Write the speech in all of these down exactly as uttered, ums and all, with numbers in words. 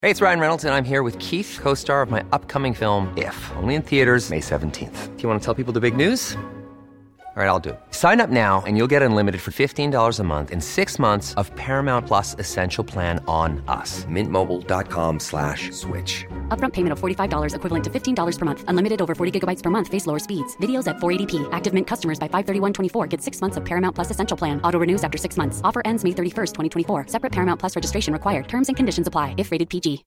Hey, it's Ryan Reynolds, and I'm here with Keith, co-star of my upcoming film, If, only in theaters May seventeenth. Do you want to tell people the big news? All right, I'll do it. Sign up now and you'll get unlimited for fifteen dollars a month and six months of Paramount Plus Essential Plan on us. Mint Mobile dot com slash switch. Upfront payment of forty-five dollars equivalent to fifteen dollars per month. Unlimited over forty gigabytes per month. Face lower speeds. Videos at four eighty p. Active Mint customers by five thirty-one twenty-four get six months of Paramount Plus Essential Plan. Auto renews after six months. Offer ends May thirty-first, twenty twenty-four. Separate Paramount Plus registration required. Terms and conditions apply if rated P G.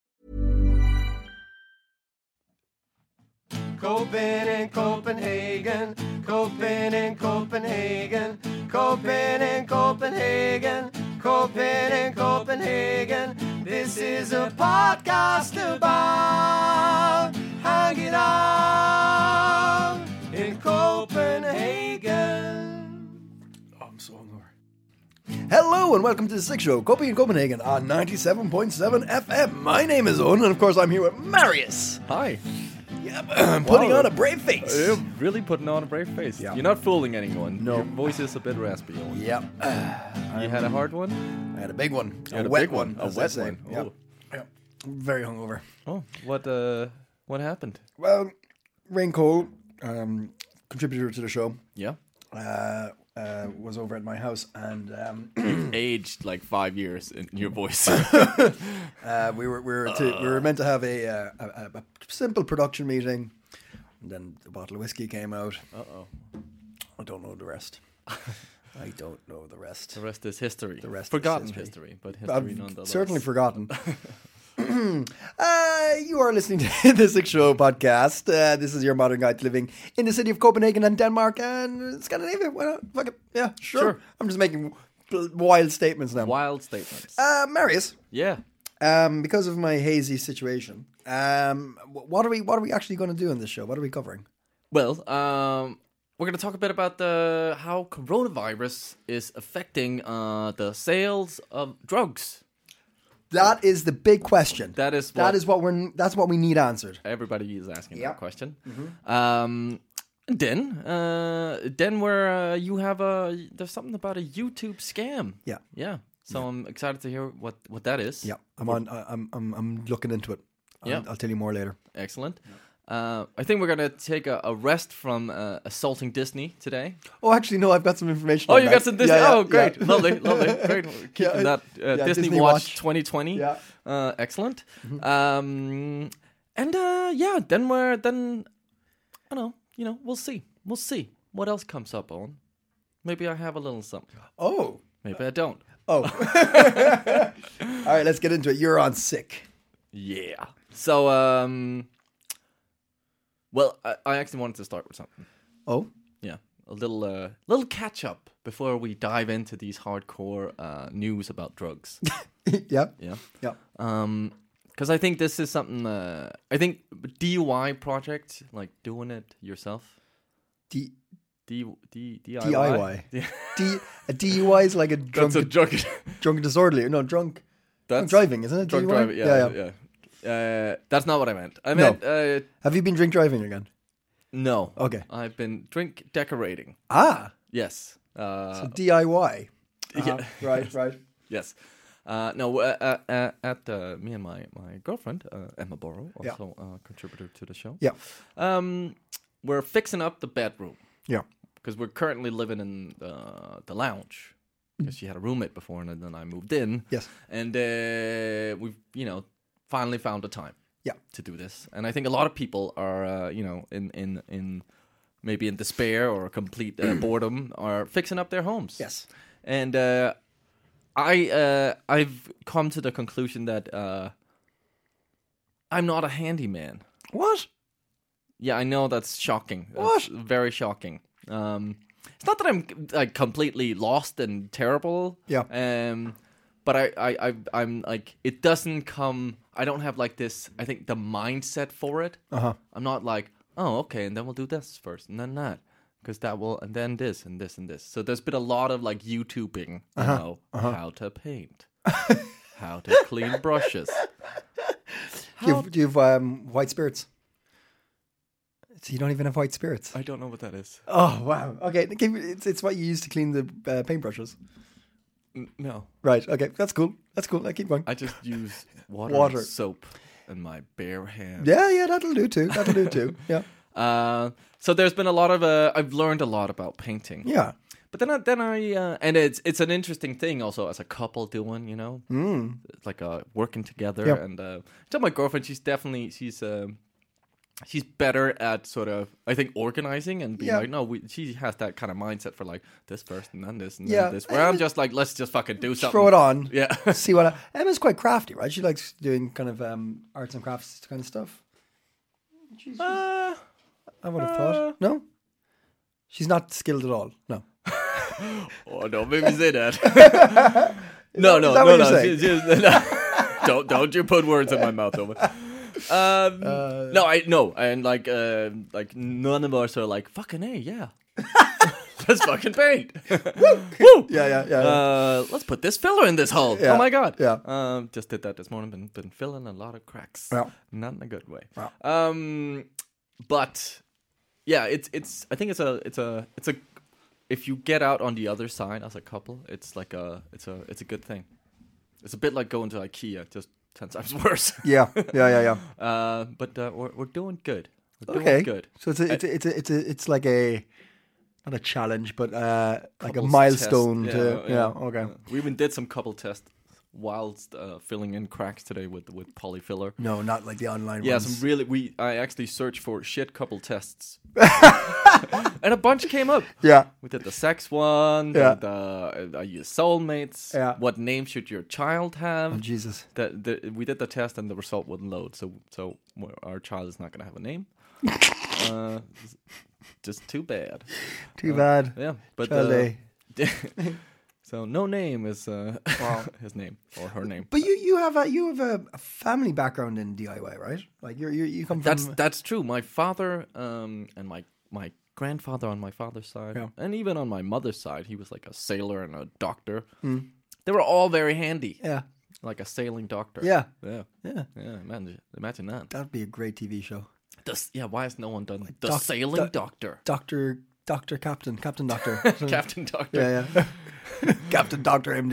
Copen in Copenhagen, Copen in Copenhagen, Copen in Copenhagen, Copen in Copenhagen. This is a podcast about hanging out in Copenhagen. Oh, I'm so hungover. Hello and welcome to the Sick Show, Copy in Copenhagen on ninety-seven point seven F M. My name is Owen, and of course I'm here with Marius. Hi. Yep, I'm putting Wow. on a brave face. You're really putting on a brave face. Yeah. You're not fooling anyone. No. Your voice is a bit raspy. Owen. Yep. You had a hard one? I had a big one. You had a a wet big one. A as they wet say. one. Yep. Oh. Yep. Very hungover. Oh, what uh what happened? Well, Rain Cole, um, contributor to the show, Yeah. uh, uh, was over at my house, and um, Aged like five years in your voice. uh, we were we were to, we were meant to have a, uh, a, a, a simple production meeting, and then a bottle of whiskey came out. Uh oh. I don't know the rest. I don't know the rest. The rest is history. The rest is Forgotten history. history, but history I've nonetheless. certainly forgotten. uh, you are listening to the Sick Show podcast. Uh, this is your modern guide to living in the city of Copenhagen and Denmark and Scandinavia. Why not? Fuck it. Yeah, sure. Sure. I'm just making wild statements now. Wild statements. Uh, Marius, yeah. um, because of my hazy situation, um, wh- what are we? What are we actually going to do in this show? What are we covering? Well, um, we're going to talk a bit about the how coronavirus is affecting uh, the sales of drugs. That is the big question. That is that what- is what we're. That's what we need answered. Everybody is asking Yeah. that question. Um, then, uh, then where uh, you have a there's something about a YouTube scam. Yeah. Yeah. So I'm excited to hear what, what that is. Yeah, I'm on. I- I'm. I'm. I'm looking into it. I'll, Yeah. I'll tell you more later. Excellent. Uh, I think we're gonna take a, a rest from uh, assaulting Disney today. Oh, actually, no. I've got some information. Oh, on you that. got some Disney. Yeah, yeah, oh, great, yeah. lovely, lovely, great. Keeping Yeah, that uh, yeah, Disney, Disney Watch, Watch. twenty twenty. Yeah. Uh, excellent. Um, and uh, yeah, then we're then I don't know. You know, we'll see. We'll see what else comes up on. Maybe I have a little something. Oh. Maybe I don't. Oh. All right, let's get into it. You're on sick. Yeah. So, um, well, I, I actually wanted to start with something. Oh. Yeah, a little, uh, little catch up before we dive into these hardcore uh, news about drugs. Yeah. Yeah. Yeah. Um, because I think this is something. Uh, I think D I Y project, like doing it yourself. D D D D D I Y. D a D U I is like a drunk, That's a drunk. drunk disorderly. No, drunk. That's drunk driving, isn't it? drunk D U I? driving. Yeah, yeah. yeah. Uh, that's not what I meant. I meant uh, Have you been drink driving again? no. Okay. I've been drink decorating. Ah. Yes. Uh, So D I Y. yeah. Uh-huh. Right. Right. Yes. Uh, no, uh, uh, uh, at uh, me and my, my girlfriend, uh, Emma Borrow, Yeah. also a contributor to the show. Yeah. Um, we're fixing up the bedroom Yeah. because we're currently living in uh, the lounge because she had a roommate before and then I moved in. Yes. And uh, we've, you know, finally found a time Yeah. to do this. And I think a lot of people are, uh, you know, in, in, in maybe in despair or complete uh, boredom are fixing up their homes. Yes. And uh, I uh, I've come to the conclusion that uh, I'm not a handyman. What? Yeah, I know that's shocking. What? It's very shocking. Um, it's not that I'm like completely lost and terrible. Yeah. Um, but I, I, I, I'm like it doesn't come. I don't have like this. I think the mindset for it. Uh huh. I'm not like, oh, okay, and then we'll do this first, and then that, because that will, and then this, and this, and this. So there's been a lot of like YouTubing, you Uh-huh. know, how to paint, how to clean brushes. Do you have, do you have um, white spirits? So you don't even have white spirits. I don't know what that is. Oh wow. Okay, give me- it's it's what you use to clean the uh, paintbrushes. N- no, Right. Okay, that's cool. That's cool. I keep going. I just use water, Water. and soap in my bare hands. Yeah, yeah, that'll do too. That'll do too. Yeah, Uh, so there's been a lot of uh, I've learned a lot about painting. yeah. But then I, then I uh, and it's it's an interesting thing also as a couple doing, you know, Mm. it's like uh, working together. Yep. And uh, so my girlfriend, she's definitely she's um she's better at sort of I think organizing and being Yeah. like no, we, she has that kind of mindset for like this first and then this and Yeah. then this. Where I'm just like let's just fucking do something. Throw it on. Yeah. See what I, Emma's quite crafty, right? She likes doing kind of um, arts and crafts kind of stuff. She's, uh, I would have thought. No, she's not skilled at all. No. oh, don't make me say that. no, no, is that no, what no. you're saying? she- she- no. don't don't you put words in my mouth, Owen. Um, Uh, no, I no, and like uh, like none of us are like fucking hey, yeah. Let's fucking paint. Woo! Yeah, yeah, yeah. Uh, let's put this filler in this hole. Yeah, Oh my god. yeah. Um, just did that this morning. Been been filling a lot of cracks. Yeah. Not in a good way. Yeah. Um, but yeah, it's it's. I think it's a it's a it's a. If you get out on the other side as a couple, it's like a it's a it's a good thing. It's a bit like going to IKEA, just ten times worse. Yeah, yeah, yeah, yeah. Uh, but uh, we're we're doing good. We're doing Okay, good. so it's a, it's a, it's a, it's a, it's like a not a challenge, but uh, like a Couples milestone test. to Yeah, yeah. yeah. Okay. We even did some couple tests whilst uh, filling in cracks today with with polyfiller. No, not like the online Yeah, ones. some really. We I actually searched for shit couple tests, and a bunch came up. Yeah, We did the sex one. Yeah. The, the are you soulmates? Yeah. What name should your child have? oh, Jesus. The, the, we did the test and the result wouldn't load. So so our child is not going to have a name. uh, just too bad. Too bad. Yeah, but Child uh, A. so no name is uh, his name or her name. But you you have a you have a, a family background in D I Y, right? Like you're, you're you come from That's that's true. My father um, and my my grandfather on my father's side, Yeah. and even on my mother's side, he was like a sailor and a doctor. They were all very handy, yeah like a sailing doctor. yeah yeah, yeah. yeah. Imagine, imagine that. That'd be a great T V show. Does, yeah, why has no one done the doc- sailing doc- doctor? Doctor Doctor Captain Captain Doctor Captain Doctor. Yeah, yeah. Captain Doctor M D.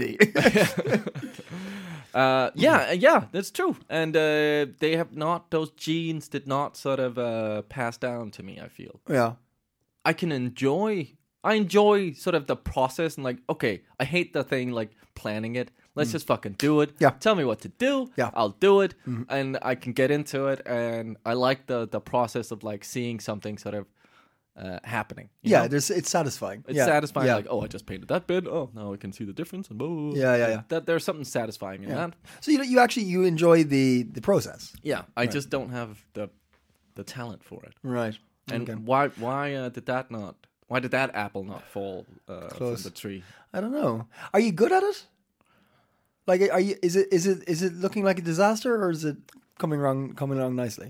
Uh, yeah, uh, yeah, that's true. And uh, they have not; those genes did not sort of uh, pass down to me. I feel yeah. I can enjoy. I enjoy sort of the process and like, okay, I hate the thing like planning it. Let's just fucking do it. Yeah. Tell me what to do. Yeah. I'll do it, and I can get into it. And I like the the process of like seeing something sort of uh, happening. you Yeah, know? there's it's satisfying. It's yeah. satisfying. Yeah. Like, oh, I just painted that bit. Oh, now I can see the difference. And blah. Yeah, yeah, yeah. That there's something satisfying in Yeah. that. So you you actually you enjoy the the process, Yeah, I just don't have the the talent for it. right? And Okay. why why uh, did that not? Why did that apple not fall uh, from Close. the tree? I don't know. Are you good at it? Like, are you? Is it? Is it? Is it looking like a disaster, or is it coming along coming along nicely?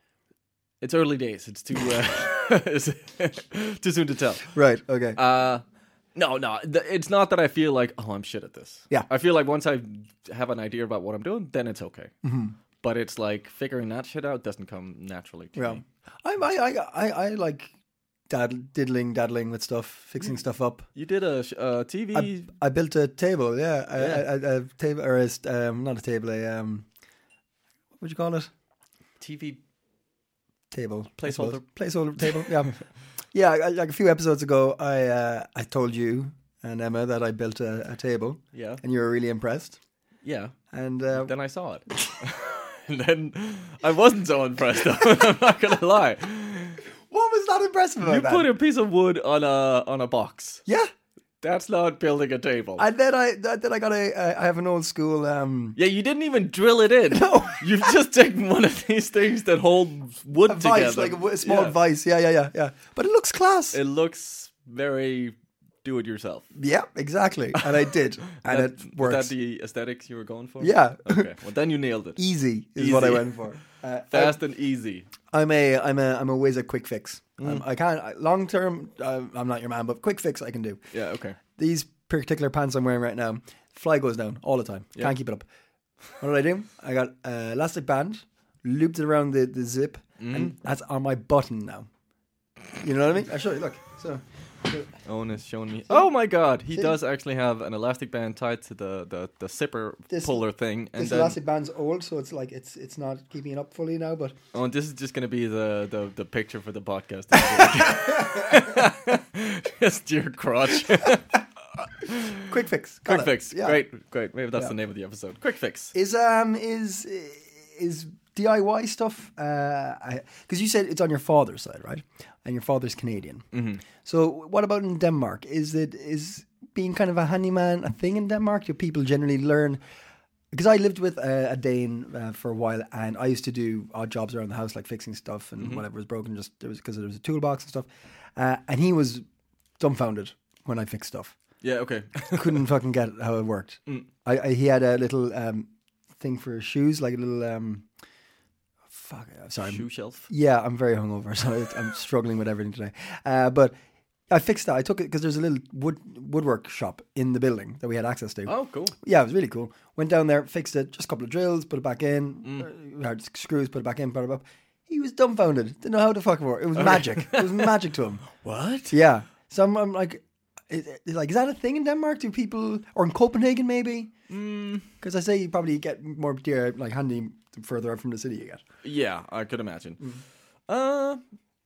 It's early days. It's too uh, it's too soon to tell. Right. Okay. Uh, no, no. th- It's not that I feel like oh I'm shit at this. Yeah. I feel like once I have an idea about what I'm doing, then it's okay. Mm-hmm. But it's like figuring that shit out doesn't come naturally to yeah. me. I, I I I I like daddle, diddling daddling with stuff, fixing stuff up. You did a sh- uh, T V. I, I built a table. Yeah. A, Yeah. A, a, a table or a, st- um not a table. A um. What would you call it? T V. Table. I Placeholder. suppose. Placeholder table. Yeah. Yeah. I, like a few episodes ago, I uh, I told you and Emma that I built a, a table, Yeah. and you were really impressed. Yeah. And uh, Then I saw it. And then I wasn't so impressed. I'm not gonna lie. what was not impressive about You that? put a piece of wood on a on a box. yeah. That's not building a table. And then I then I got a I have an old school um yeah, you didn't even drill it in. No. You've just taken one of these things that hold wood a together. vice, like a, w- a small Yeah. vice. Yeah, yeah, yeah, yeah. But it looks class. It looks very do it yourself. yeah, exactly. And I did, and that, it Was works. that the aesthetics you were going for? Yeah. Okay. Well, then you nailed it. Easy is what I Easy. went for. Uh, Fast and easy. I'm a I'm a I'm always a quick fix. Mm. Um, I can't I, long term. Uh, I'm not your man, but quick fix I can do. Yeah. Okay. These particular pants I'm wearing right now, fly goes down all the time. Yeah. Can't keep it up. What did I do? I got uh, elastic band, looped it around the, the zip, Mm. and that's on my button now. You know what I mean? I'll show you. Look. So Owen is showing me. Oh my god, he does actually have an elastic band tied to the the, the zipper This- puller thing. And This then, elastic band's old, so it's like it's it's not keeping it up fully now. But oh, and this is just gonna be the the, the picture for the podcast. Just your crotch. quick fix, got Quick it. fix. Yeah. Great, great. Maybe that's Yeah. the name of the episode. Quick fix. Is um is is D I Y stuff? Because you said it's on your father's side, right? And your father's Canadian. Mm-hmm. So what about in Denmark? Is it is being kind of a handyman a thing in Denmark? Do people generally learn? Because I lived with a, a Dane uh, for a while, and I used to do odd jobs around the house, like fixing stuff and Mm-hmm. whatever was broken. Just there was because there was a toolbox and stuff. Uh, and he was dumbfounded when I fixed stuff. Yeah. Okay. Couldn't fucking get how it worked. Mm. I, I he had a little um, thing for shoes, like a little um, fuck. uh, Sorry, I'm- Shoe shelf. yeah, I'm very hungover, so it- I'm struggling with everything today. Uh, but I fixed that. I took it because there's a little wood woodwork shop in the building that we had access to. Oh, cool. Yeah, it was really cool. Went down there, fixed it, just a couple of drills, put it back in, uh, hard screws, put it back in, put it up. He was dumbfounded. Didn't know how to fuck it work. It was magic. It was magic to him. What? Yeah. So I'm, I'm like, is, is like, is that a thing in Denmark? Do people, or in Copenhagen maybe? Because I say you probably get more deer like handy the further out from the city you get. Yeah, I could imagine. Uh,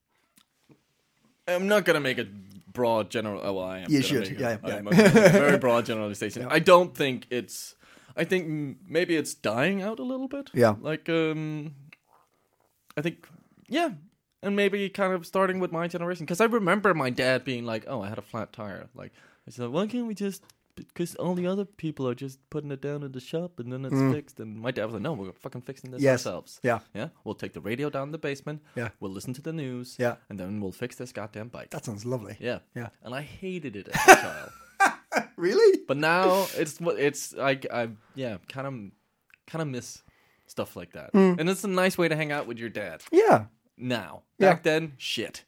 I'm not gonna make a broad general. Oh, well, I am. You gonna should, make yeah, a, yeah. I'm gonna make a very broad generalization. I don't think it's. I think mm, maybe it's dying out a little bit. Yeah. Like um, I think yeah, and maybe kind of starting with my generation because I remember my dad being like, "Oh, I had a flat tire." Like I said, "Why can't we just?" Because all the other people are just putting it down in the shop and then it's fixed. And my dad was like, "No, we're fucking fixing this Yes. ourselves." Yeah. Yeah, we'll take the radio down in the basement. Yeah. We'll listen to the news. Yeah. And then we'll fix this goddamn bike. That sounds lovely. Yeah. Yeah. And I hated it as a child. Really? But now it's what it's like. I yeah, kind of, kind of miss stuff like that. And it's a nice way to hang out with your dad. Yeah. Now, Yeah. back then, shit.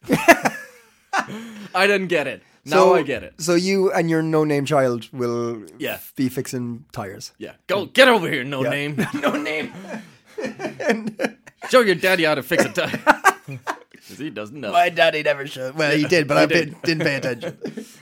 I didn't get it. Now So- I get it. So you and your no-name child will Yeah. be fixing tires. Yeah. Go get over here, no Yeah. name. No name. Show your daddy how to fix a tire. Because he doesn't know. My daddy never showed. Well, he did, but I did. did. didn't pay attention.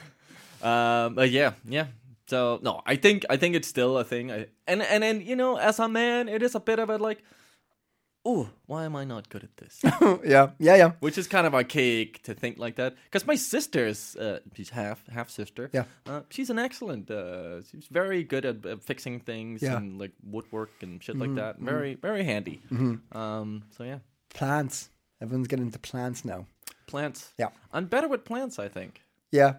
Um, but yeah, yeah. So no, I think I think it's still a thing. I, and and and you know, as a man, it is a bit of a like, oh, why am I not good at this? yeah, yeah, yeah. Which is kind of archaic to think like that. Because my sister's, uh, she's half half sister. Yeah. uh, she's an excellent. Uh, she's very good at uh, fixing things Yeah. and like woodwork and shit like that. Very very handy. Um, so yeah, Plants. Everyone's getting into plants now. plants. Yeah. I'm better with plants, I think. Yeah.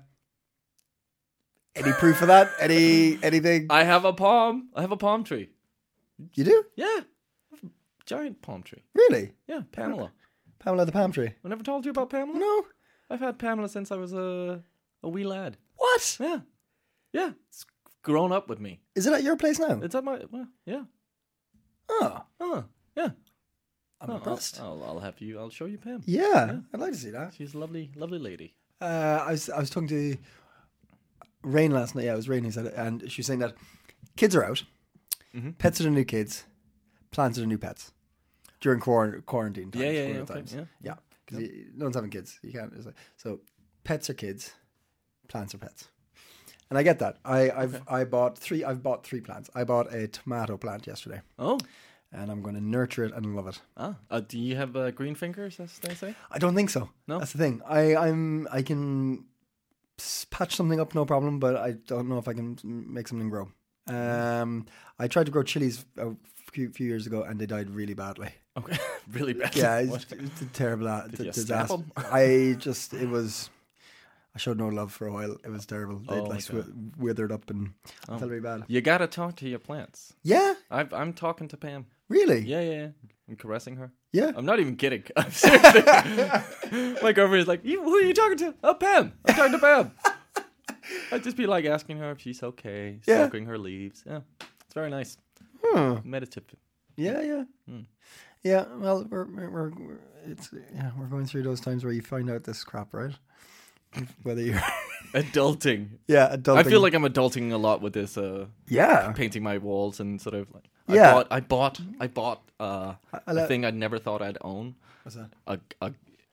Any proof of that? Any anything? I have a palm. I have a palm tree. You do? Yeah, giant palm tree. Really? Yeah, Pamela. Pamela the palm tree? I never told you about Pamela? No. I've had Pamela since I was a a wee lad. What? Yeah, yeah. It's grown up with me. Is it at your place now? It's at my well, yeah. Oh, Oh, yeah. I'm Oh, impressed. I'll, I'll I'll have you. I'll show you Pam. Yeah, I'd like to see that. She's a lovely, lovely lady. Uh, I was I was talking to Rain last night. Yeah, it was Rain who said it, and she was saying that kids are out, Mm-hmm. pets are the new kids, plants are the new pets during quar- quarantine times. Yeah, yeah, yeah, corona okay, times. yeah. yeah. Because no one's having kids. You can't. It's like, so pets are kids, plants are pets, and I get that. I I've I bought three. I've bought three plants. I bought a tomato plant yesterday, Oh, and I'm going to nurture it and love it. ah. Uh, do you have uh, green fingers, as they say? I don't think so. No? That's the thing. I, I'm I can s- patch something up, no problem, but I don't know if I can m- make something grow. Um, I tried to grow chilies a few, few years ago, and they died really badly. Okay, really bad. Yeah, What? it's, it's a terrible uh, Did d- you snap disaster. 'em? I just it was. I showed no love for a while. It was terrible. They Oh, like my swi- withered up and I felt really bad. You gotta talk to your plants. Yeah, I've, I'm talking to Pam. really. Yeah, yeah, yeah. I'm caressing her. Yeah. I'm not even kidding. I'm seriously. My girlfriend is like, you, who are you talking to? Oh, Pam. I'm talking to Pam. I'd just be like asking her if she's okay, Yeah. stroking her leaves. Yeah, it's very nice. Huh. Meditative. Yeah, yeah, Hmm. yeah. Well, we're, we're we're we're it's yeah we're going through those times where you find out this crap, right? Whether you're Adulting. yeah, adulting. I feel like I'm adulting a lot with this. Uh, yeah, painting my walls and sort of like. I Yeah. Bought, I bought. I bought. Uh, I a like- thing I'd never thought I'd own. What's that? A, a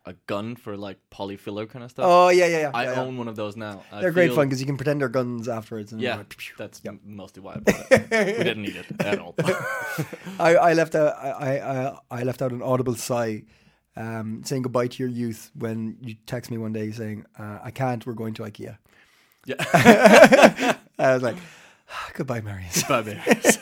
a gun for like polyfiller kind of stuff. Oh yeah, yeah, yeah. I yeah, yeah. own one of those now. I They're great feel- fun because you can pretend they're guns afterwards. And Yeah, you're like, that's Yep. m- mostly why I bought it. We didn't need it at all. I, I left out I, I I left out an audible sigh, um, saying goodbye to your youth when you text me one day saying uh, I can't. We're going to IKEA. Yeah. I was like, ah, goodbye, Marius. Bye, bears.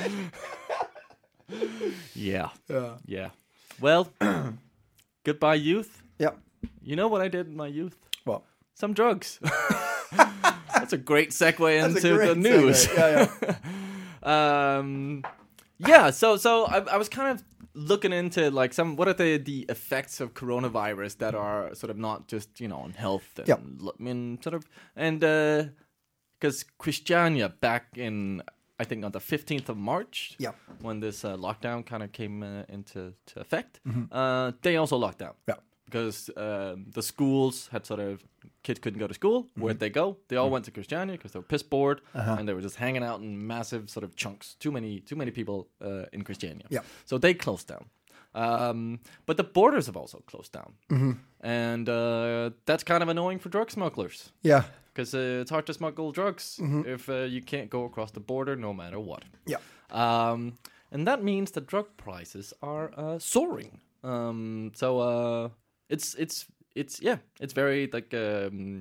yeah. Yeah. Yeah. Well, goodbye, youth. Yeah. You know what I did in my youth? What? Some drugs. That's a great segue That's a into great the news. segue. Yeah, yeah. um, yeah. So, so I, I was kind of looking into like some what are the the effects of coronavirus that are sort of not just you know on health. And, Yep. I mean, sort of, and because uh, Christiania back in I think on the fifteenth of March. Yeah. When this uh, lockdown kind of came uh, into to effect, uh, they also locked down. Yeah. Because um, the schools had sort of kids couldn't go to school. Where'd they go? They all went to Christiania because they were piss bored, and they were just hanging out in massive sort of chunks. Too many, too many people uh, in Christiania. Yeah. So they closed down. Um, but the borders have also closed down, and uh, that's kind of annoying for drug smugglers Yeah. because uh, it's hard to smuggle drugs if uh, you can't go across the border no matter what. Yeah. Um, and that means that drug prices are uh, soaring. Um, so uh, it's it's it's yeah, it's very like um,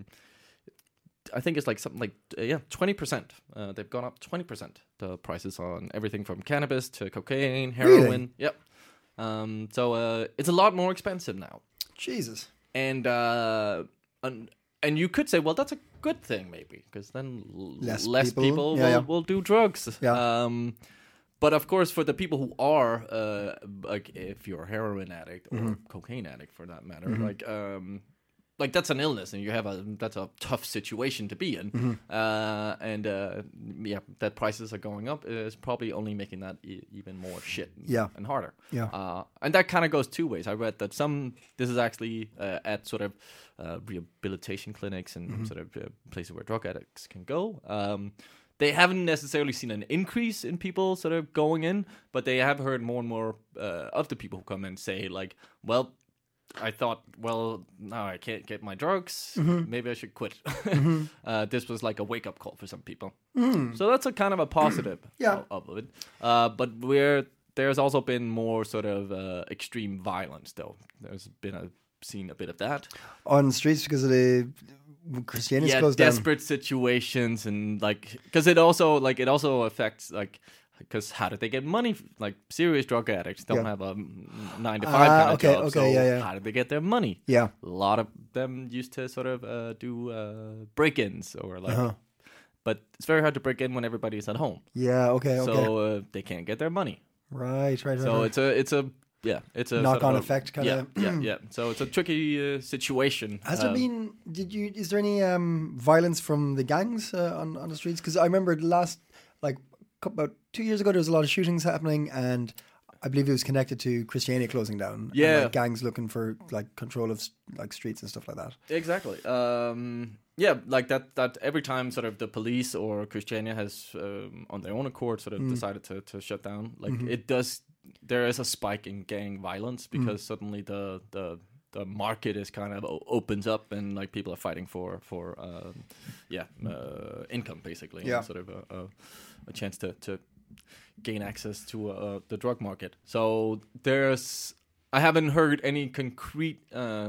I think it's like something like uh, yeah, twenty percent. Uh, they've gone up twenty percent. The prices on everything from cannabis to cocaine, heroin. Really? Yep. Um, so uh, it's a lot more expensive now. Jesus. And uh, and and you could say, well, that's a good thing, maybe, because then l- Less less, people, people, yeah, will, yeah. will do drugs. Yeah. Um, but of course, for the people who are, uh, like, if you're a heroin addict or Mm-hmm. cocaine addict, for that matter, like, um, like that's an illness, and you have a that's a tough situation to be in. Mm-hmm. Uh, and uh, yeah, that prices are going up is probably only making that e- even more shit. Yeah. and harder. Yeah. Uh, and that kind of goes two ways. I read that some, this is actually uh, at sort of uh, rehabilitation clinics and Mm-hmm. sort of uh, places where drug addicts can go. Um, they haven't necessarily seen an increase in people sort of going in, but they have heard more and more uh, of the people who come in say like, well, I thought, well, now I can't get my drugs. Mm-hmm. Maybe I should quit. uh, this was like a wake-up call for some people. So that's a kind of a positive Mm. Yeah. of, of it. Uh, but we're there's also been more sort of uh, extreme violence, though. There's been a seen a bit of that. On streets because of the Christianity's yeah, closed down. desperate situations and like because it also like it also affects like. Because how did they get money? Like serious drug addicts don't Yeah. have a mm, nine to five Ah, kind of okay, job. okay, so yeah, yeah. how did they get their money? Yeah. A lot of them used to sort of uh, do uh, break-ins or like, Uh-huh. but it's very hard to break in when everybody's at home, Yeah. Okay. Okay. so uh, they can't get their money. right. Right. Right. So right. it's a it's a yeah it's a Knock-on sort of a- effect kinda- Yeah, yeah, yeah. So it's a tricky uh, situation. Has there Um, been? Did you? Is there any um, violence from the gangs uh, on on the streets? Because I remember the last like cou- about two years ago, there was a lot of shootings happening, and I believe it was connected to Christiania closing down. and, Yeah. like, gangs looking for like control of like streets and stuff like that. Exactly. Um, yeah, like that. That every time, sort of, the police or Christiania has, um, on their own accord, sort of decided to, to shut down. Like it does. There is a spike in gang violence because suddenly the the the market is kind of o- opens up and like people are fighting for for um, yeah uh, income basically. Yeah. And sort of a, a, a chance to to gain access to uh, the drug market. So there's. I haven't heard any concrete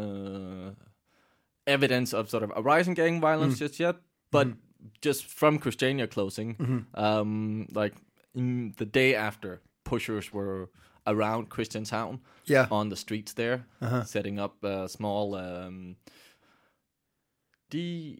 uh, evidence of sort of a rise in gang violence just yet, but just from Christiania closing, um, like in the day after, pushers were around Christianstown Yeah. on the streets there, setting up uh, small um, D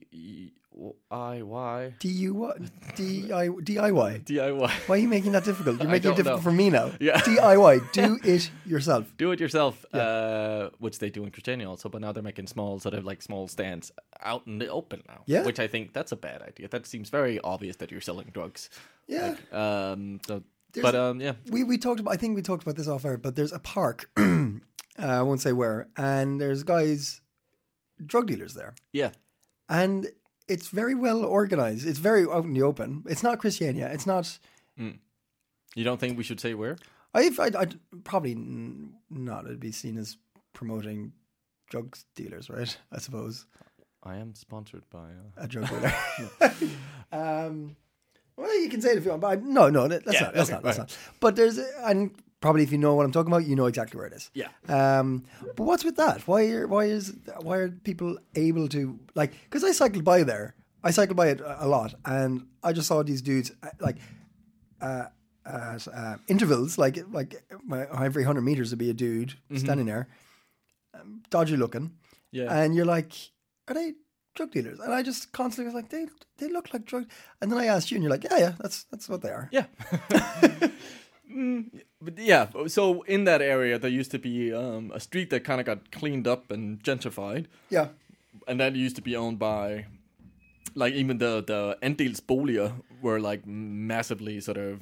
I Y D U Y D I D I Y. D I Y. Why are you making that difficult? You're I making it don't difficult know. for me now. Yeah. D I Y. Do it yourself. Do it yourself, uh, which they do in Christiania also, but now they're making small, sort of like small stands out in the open now. Yeah. Which I think that's a bad idea. That seems very obvious that you're selling drugs. Yeah. Like, um. So, There's but a- um. Yeah. We we talked about. I think we talked about this off air, but there's a park. uh, I won't say where, and there's guys, drug dealers there, Yeah. and it's very well organized. It's very out in the open. It's not Christiania. It's not. You don't think we should say where? I've, I'd, I'd probably n- not. It'd be seen as promoting drug dealers, right? I suppose. I am sponsored by uh... a drug dealer. um, well, you can say it if you want, but I, no, no, that's Yeah, not. That's okay, not. That's right. not. But there's, and probably if you know what I'm talking about, you know exactly where it is. Yeah. Um, but what's with that? Why are why is why are people able to like? Because I cycled by there. I cycled by it a lot, and I just saw these dudes uh, like uh, uh, uh, intervals, like like every hundred meters would be a dude Mm-hmm. standing there, um, dodgy looking, Yeah. and you're like, are they drug dealers? And I just constantly was like, they they look like drug. And then I asked you, and you're like, yeah, yeah, that's that's what they are. Yeah. mm, but yeah, so in that area, there used to be um, a street that kind of got cleaned up and gentrified. Yeah. And that used to be owned by, like, even the, the andelsboliger were, like, massively sort of,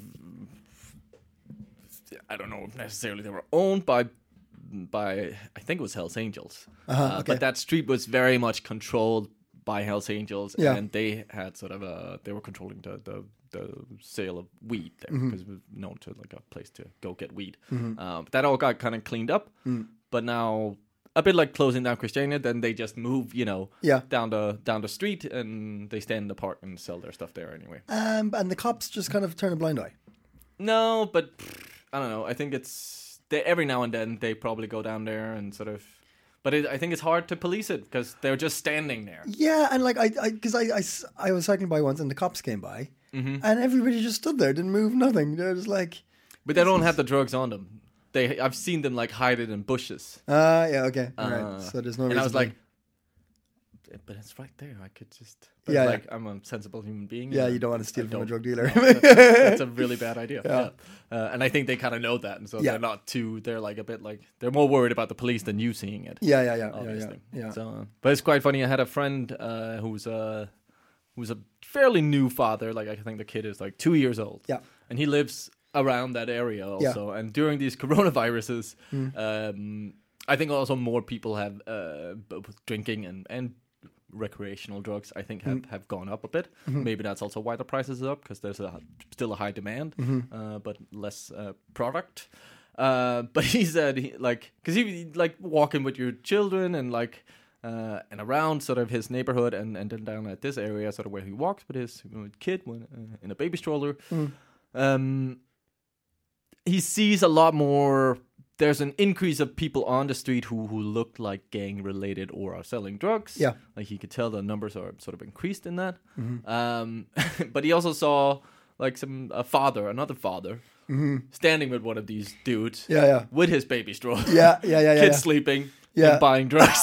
I don't know if necessarily they were owned by, by I think it was Hells Angels. Uh-huh, Uh, okay. But that street was very much controlled by Hells Angels, Yeah. and they had sort of a, they were controlling the, the, the sale of weed there, Mm-hmm. because it was known to, like, a place to go get weed. Um, that all got kind of cleaned up, Mm. but now, a bit like closing down Christiania, then they just move, you know, Yeah. down the down the street, and they stand in the park and sell their stuff there anyway. Um, and the cops just kind of turn a blind eye. No, but pff, I don't know. I think it's they, every now and then they probably go down there and sort of, but it, I think it's hard to police it because they're just standing there. Yeah, and like I, because I, I, I, s- I was cycling by once, and the cops came by, Mm-hmm. and everybody just stood there, didn't move, nothing. They're just like, But they don't have the drugs on them. They, I've seen them like hide it in bushes. ah, uh, yeah, okay, all right. Uh, So there's no and reason. I was to- like, but it's right there. I could just, but Yeah, like I'm a sensible human being. yeah, and you don't want to I steal from a don't- drug dealer. No, that's, that's a really bad idea. Yeah. Yeah, Uh, and I think they kind of know that, and so Yeah. they're not too. They're like a bit like they're more worried about the police than you seeing it. yeah, yeah, yeah, yeah, Obviously. yeah, yeah. So, uh, but it's quite funny. I had a friend uh, who's a who's a fairly new father. Like I think the kid is like two years old. Yeah. and he lives around that area also. And during these coronaviruses, Mm. um, I think also more people have uh, both drinking and and recreational drugs. I think have, Mm. have gone up a bit. Mm-hmm. Maybe that's also why the prices are up, because there's a still a high demand, Mm-hmm. uh, but less uh, product. Uh, but he said, he, like, because he like walking with your children and like uh, and around sort of his neighborhood, and, and then down at this area, sort of where he walks with his uh, kid when, uh, in a baby stroller. Mm. Um, he sees a lot more. There's an increase of people on the street who, who look like gang related or are selling drugs. Yeah. Like he could tell the numbers are sort of increased in that. Mm-hmm. Um, but he also saw like some a father, another father, standing with one of these dudes. Mm-hmm. Yeah, yeah. With his baby stroller. Yeah, yeah, yeah, yeah. Kids yeah. sleeping. Yeah. And buying drugs.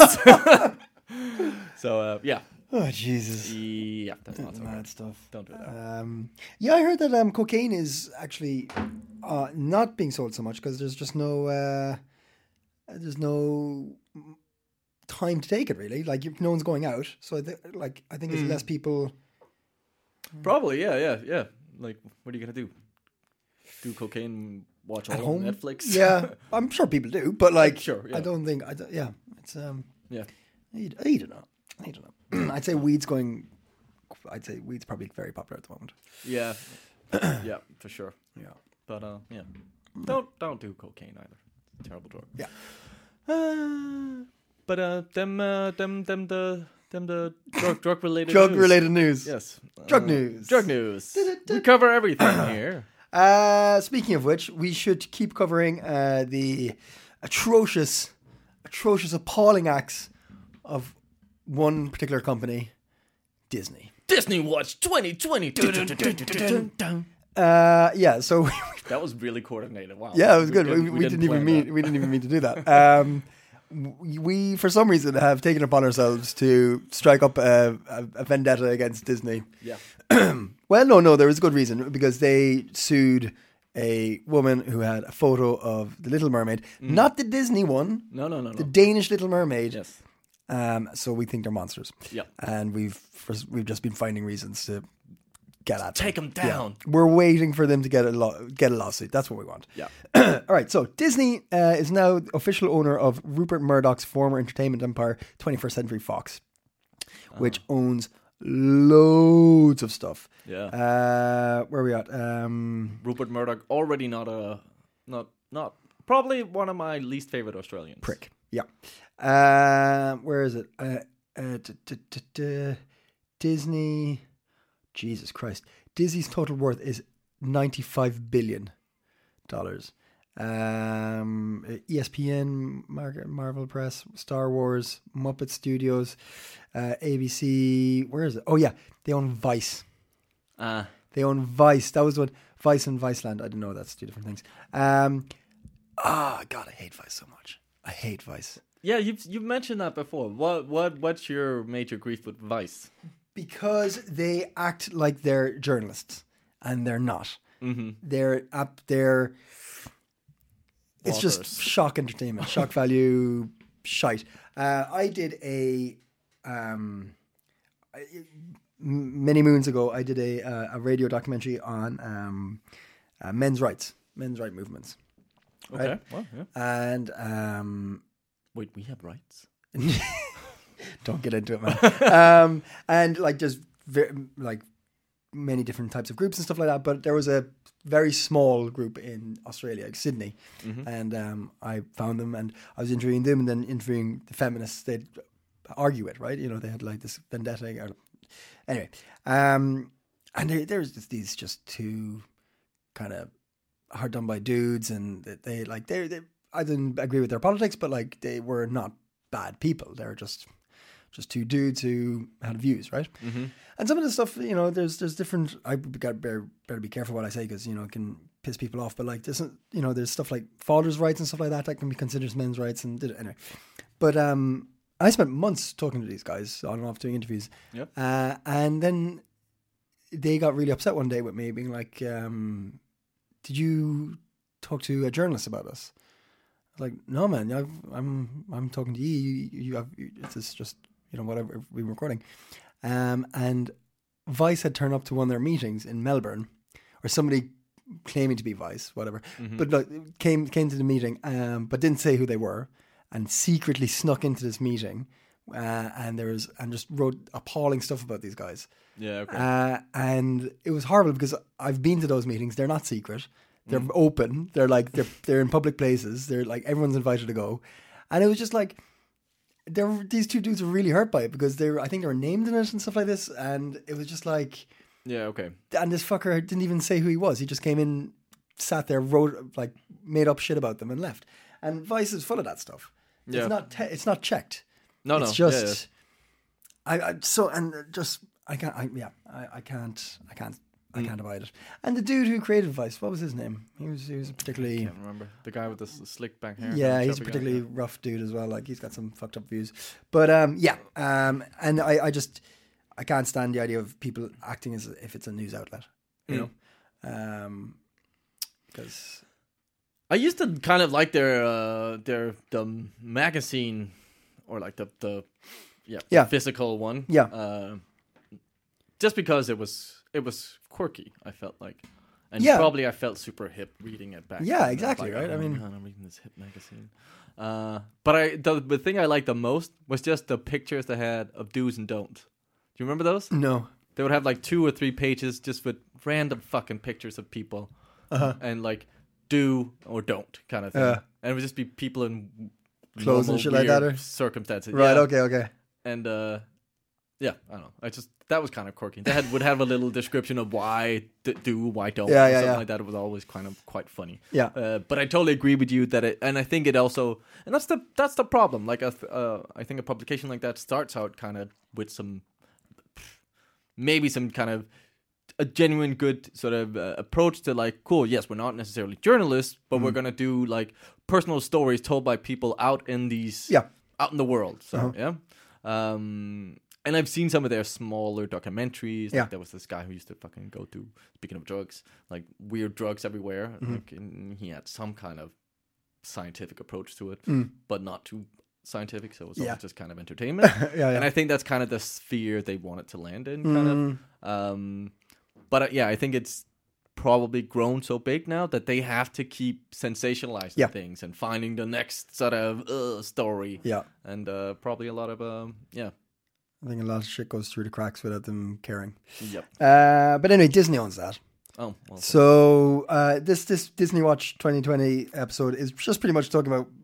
so uh, yeah. Oh Jesus. Yeah, that's not so Mad good. stuff. Don't do that. Um, yeah, I heard that um, cocaine is actually uh, not being sold so much because there's just no uh, there's no time to take it really. Like if no one's going out, so I think like I think it's Mm. less people. Probably, yeah, yeah, yeah. Like, what are you gonna do? Do cocaine? Watch all At on home? Netflix? Yeah, I'm sure people do, but like, Sure, yeah. I don't think. I don't, yeah, it's um, yeah. I, I don't know. I don't know. I'd say weed's going. I'd say weed's probably very popular at the moment. Yeah, yeah, for sure. Yeah. But uh, yeah, don't don't do cocaine either. It's a terrible drug. Yeah. Uh, but uh, them uh, them them the them the drug drug related Drug related news. Yes. Drug Uh, news. Drug news. We cover everything here. Uh, speaking of which, we should keep covering uh, the atrocious, atrocious, appalling acts of one particular company, Disney. Disney Watch twenty twenty. Uh, yeah, so That was really coordinated. Wow. yeah, it was good. We, We, didn't- we, we didn't, even plan mean that. we didn't even mean to do that. Um, we, we for some reason have taken upon ourselves to strike up a, a, a vendetta against Disney. Yeah. Well, no, no, there was a good reason because they sued a woman who had a photo of the Little Mermaid, not the Disney one, No, no, no, no. the Danish Little Mermaid. Yes. Um, so we think they're monsters. Yeah. And we've we've just been finding reasons to get at them. Take them down. We're waiting for them to get a law- get a lawsuit. That's what we want. Yeah. All right. So Disney uh, is now the official owner of Rupert Murdoch's former entertainment empire, twenty-first Century Fox, which owns loads of stuff. Yeah. Uh, where are we at? Um, Rupert Murdoch already not a not not probably one of my least favorite Australians. prick. Yeah. Uh, where is it? Uh, uh, d- d- d- d- Disney. Jesus Christ. Disney's total worth is ninety-five billion dollars. Um, E S P N, Mar- Marvel Press, Star Wars, Muppet Studios, uh, A B C. Where is it? Oh, yeah. They own Vice. Uh, They own Vice. That was the one. Vice and Viceland. I didn't know that's two different things. Um, oh, God, I hate Vice so much. I hate Vice. yeah, you've you've mentioned that before. What what what's your major grief with Vice? Because they act like they're journalists, and they're not. Mm-hmm. They're up. They're. It's just Authors. shock entertainment, shock value, shite. Uh, I did a um, I- m- many moons ago. I did a uh, a radio documentary on um, uh, men's rights, men's right movements, Okay. right? Well, yeah. And um, Wait, we have rights. don't get into it, man. um, and like just very, like many different types of groups and stuff like that. But there was a very small group in Australia, like Sydney, and um, I found them and I was interviewing them and then interviewing the feminists they'd argue it, right? You know, they had like this vendetta. Or, anyway, um, and there, there's just these just two kind of hard done by dudes, and they, they like they they I didn't agree with their politics, but like they were not bad people. They were just just two dudes who had views, right? Mm-hmm. And some of the stuff, you know, there's there's different. I got better, better be careful what I say because you know it can piss people off. But like, there's you know, there's stuff like fathers' rights and stuff like that that can be considered men's rights and anyway. But um, I spent months talking to these guys on and off doing interviews. Yep. Uh, and then they got really upset one day with me, being like, um, "Did you talk to a journalist about us?" I was like, "No, man. I've, I'm I'm talking to you. You, you have it's just you know whatever we're recording." Um, and Vice had turned up to one of their meetings in Melbourne, or somebody claiming to be Vice, whatever, mm-hmm. but like, came came to the meeting, um, but didn't say who they were, and secretly snuck into this meeting, uh, and there was and just wrote appalling stuff about these guys. Yeah, okay. Uh, and it was horrible because I've been to those meetings. They're not secret. They're mm. open. They're like they're they're in public places. They're like everyone's invited to go, and it was just like. There were, these two dudes were really hurt by it because they were, I think they were named in it and stuff like this, and it was just like, yeah, okay. And this fucker didn't even say who he was. He just came in, sat there, wrote like made up shit about them and left. And Vice is full of that stuff. Yeah. It's not te- it's not checked. No, it's no. just yeah, yeah. I, I so and just I can't I, yeah I, I can't I can't I can't abide it. And the dude who created Vice, what was his name? He was he was particularly I can't remember. The guy with the s- slick back hair. yeah, the he's a chubby particularly guy. rough dude as well. Like he's got some fucked up views. But um, yeah, um, and I, I just I can't stand the idea of people acting as if it's a news outlet. You Mm. know, um, because I used to kind of like their uh, their the magazine or like the the yeah, the Yeah. physical one. Yeah. Uh, just because it was it was quirky, I felt like. And Yeah. probably I felt super hip reading it back Yeah, then. I was exactly, like, right? oh I my mean- God, I'm reading this hip magazine. Uh, but I the, the thing I liked the most was just the pictures they had of do's and don'ts. Do you remember those? no, They would have like two or three pages just with random fucking pictures of people, Uh-huh. and like do or don't kind of thing. Yeah. And it would just be people in Clothes and normal, shit like that, weird or- circumstances. right? Yeah. Okay, okay. And uh, yeah, I don't know. I just that was kind of quirky. They had, would have a little description of why d- do, why don't, Yeah, or yeah, something yeah. like that. It was always kind of quite funny. Yeah. Uh, but I totally agree with you that it, and I think it also, and that's the that's the problem. Like a, th- uh, I think a publication like that starts out kind of with some, maybe some kind of a genuine good sort of uh, approach to like, cool, yes, we're not necessarily journalists, but Mm-hmm. we're gonna do like personal stories told by people out in these, Yeah. out in the world. So Uh-huh. yeah, um, and I've seen some of their smaller documentaries. Like Yeah. there was this guy who used to fucking go to, speaking of drugs, like weird drugs everywhere. Mm-hmm. Like and he had some kind of scientific approach to it, Mm. but not too scientific. So it was Yeah. all just kind of entertainment. Yeah, yeah. And I think that's kind of the sphere they want it to land in, kind Mm. of. Um, but uh, yeah, I think it's probably grown so big now that they have to keep sensationalizing Yeah. things and finding the next sort of uh, story. Yeah. And uh, probably a lot of um, yeah, I think a lot of shit goes through the cracks without them caring. yep. Uh, but anyway, Disney owns that. Oh, well, So uh, this this Disney Watch twenty twenty episode is just pretty much talking about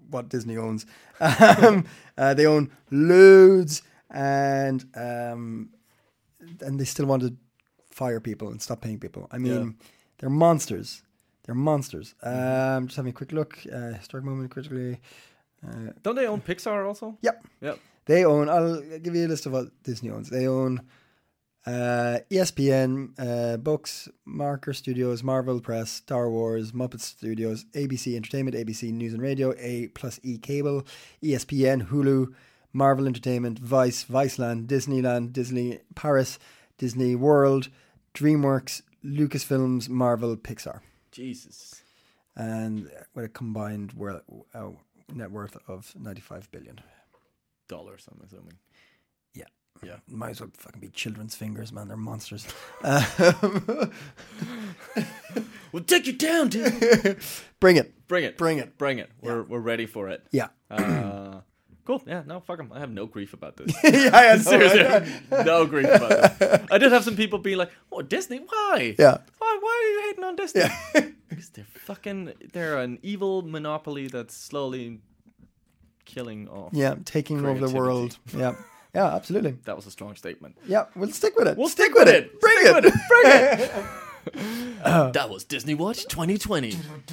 what Disney owns. Um, uh, they own loads, and um, and they still want to fire people and stop paying people. I mean, Yeah. they're monsters. They're monsters. Um, just having a quick look. Uh, historic moment, critically. Uh, Don't they own Pixar also? yep. Yep. They own, I'll give you a list of what Disney owns. They own uh, E S P N, uh, Books, Marker Studios, Marvel Press, Star Wars, Muppet Studios, A B C Entertainment, A B C News and Radio, A plus E Cable, E S P N, Hulu, Marvel Entertainment, Vice, Viceland, Disneyland, Disney Paris, Disney World, DreamWorks, Lucasfilms, Marvel, Pixar. Jesus. And with a combined wor- uh, net worth of ninety-five billion. Dollars, I'm assuming. Yeah. Yeah. Might as well fucking be children's fingers, man. They're monsters. Um, We'll take you down, dude. bring it. Bring it. Bring it. Bring it. We're we're ready for it. Yeah. Uh, cool. Yeah. No, fuck 'em. I have no grief about this. yeah, yeah, no, Seriously, right? no grief about this. I did have some people be like, "Oh, Disney? Why? Yeah. Why? Why are you hating on Disney?" Yeah. Because they're fucking. They're an evil monopoly that's slowly killing off. Yeah, taking over the Creativity. world. Yeah. Yeah, absolutely. That was a strong statement. Yeah, we'll stick with it. We'll stick, stick with with it. it. Bring Stick it. with it. Bring it. That was Disney Watch twenty twenty.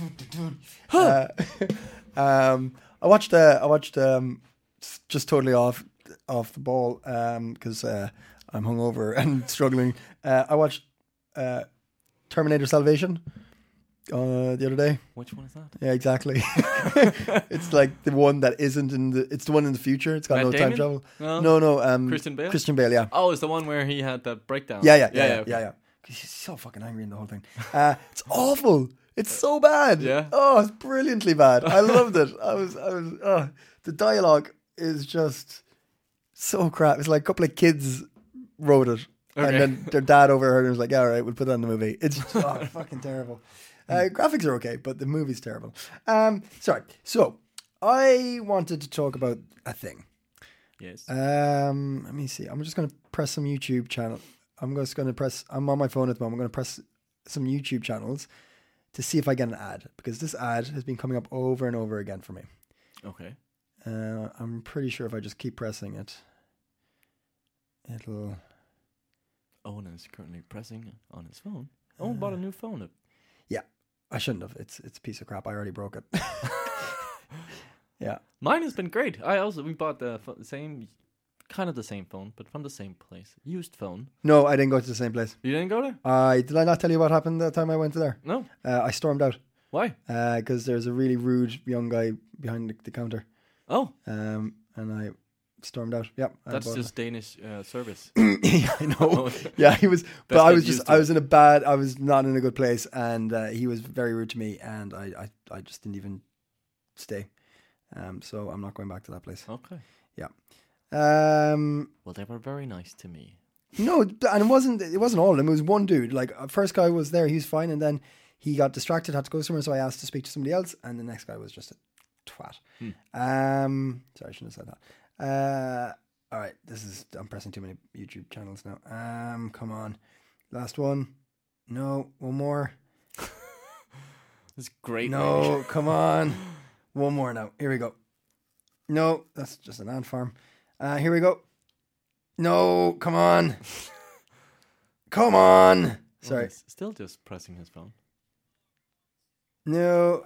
Um, I watched. Uh, I watched. Um, s- just totally off off the ball because uh, I'm hungover and struggling. Uh, I watched uh, Terminator Salvation uh, the other day. Which one is that? Yeah, exactly. It's like the one that isn't in the. It's the one in the future. It's got Matt no time Damon? travel. No? no, no. Um, Christian Bale? Christian Bale. Yeah. Oh, it's the one where he had that breakdown. Yeah, yeah, yeah, yeah, okay. yeah. yeah. 'Cause he's so fucking angry in the whole thing. Uh, it's awful. It's so bad. Yeah. Oh, it's brilliantly bad. I loved it. I was, I was. Oh, the dialogue is just so crap. It's like a couple of kids wrote it, Okay. and then their dad overheard and was like, "Yeah, all right, we'll put that in the movie." It's oh, fucking terrible. Uh, graphics are okay, but the movie's terrible. Um, sorry. So I wanted to talk about a thing. Yes. Um, let me see. I'm just going to press some YouTube channel. I'm just going to press. I'm on my phone at the moment. I'm going to press some YouTube channels to see if I get an ad, because this ad has been coming up over and over again for me. Okay. Uh, I'm pretty sure if I just keep pressing it, it'll. Owen is currently pressing on his phone. Owen bought a new phone. Yeah, I shouldn't have. It's it's a piece of crap. I already broke it. Yeah. Mine has been great. I also we bought the pho- same, kind of the same phone, but from the same place. Used phone. No, I didn't go to the same place. You didn't go there? I did I not tell you what happened that time I went there? No. Uh, I stormed out Why? because there's a really rude young guy behind the, the counter, Oh, um, and I stormed out. Yeah, I that's bought it. just Danish uh, service. Yeah, I know. Oh. Yeah, he was, but Best I get was used just, to I it. was in a bad, I was not in a good place, and uh, he was very rude to me, and I, I, I just didn't even stay. Um, so I'm not going back to that place. Okay. Yeah. Um, Well, they were very nice to me. no, and it wasn't, it wasn't all of them. It was one dude. Like, uh, first guy was there, he was fine, and then he got distracted, had to go somewhere, so I asked to speak to somebody else, and the next guy was just a twat. Um, sorry, I shouldn't have said that. Uh, all right, this is, I'm pressing too many YouTube channels now. Um, come on. Last one. No, one more. It's great. No, come on. One more now. Here we go. No, that's just an ant farm. Uh, here we go. No, come on. Come on. Well, Sorry. he's still just pressing his phone. No.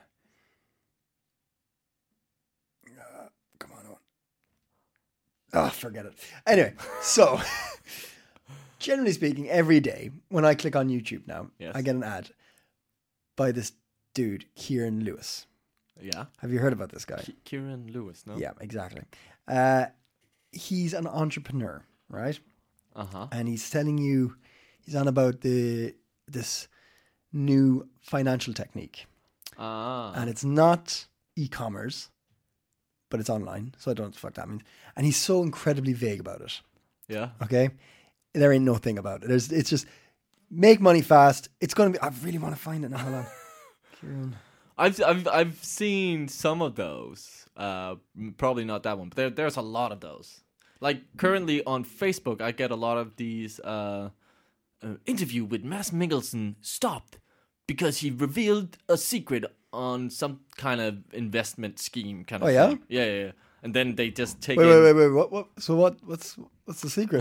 Uh, come on. Owen. Oh, forget it. Anyway, so generally speaking, every day when I click on YouTube now, Yes. I get an ad by this dude, Kieran Lewis. Yeah. Have you heard about this guy? K- Kieran Lewis, no? Yeah, exactly. Uh, he's an entrepreneur, right? Uh huh. And he's telling you, he's on about the this new financial technique, Ah. and it's not e-commerce, but it's online. So I don't know what the fuck that means. And he's so incredibly vague about it. Yeah. Okay, there ain't no thing about it. There's, it's just make money fast. It's gonna be. I really want to find it now. Hold on. Kieran. I've I've I've seen some of those. Uh, m- probably not that one, but there there's a lot of those. Like currently on Facebook, I get a lot of these. Uh, uh, interview with Mads Mikkelsen stopped because he revealed a secret on some kind of investment scheme kind of Oh, yeah? thing. Yeah, yeah, yeah. And then they just take Wait, in, wait, wait, wait. What? What? So what? What's what's the secret?